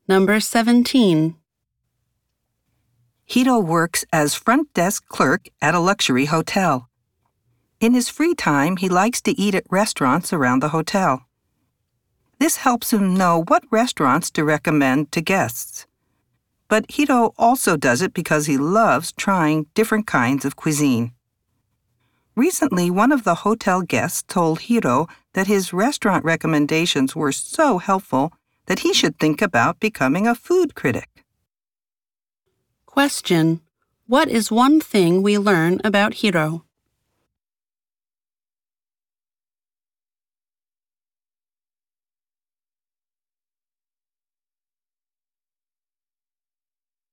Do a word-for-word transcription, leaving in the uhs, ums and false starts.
Number seventeen. Hiro works as front desk clerk at a luxury hotel. In his free time, he likes to eat at restaurants around the hotel. This helps him know what restaurants to recommend to guests. But Hiro also does it because he loves trying different kinds of cuisine. Recently, one of the hotel guests told Hiro that his restaurant recommendations were so helpful that he should think about becoming a food critic. Question: What is one thing we learn about Hiro?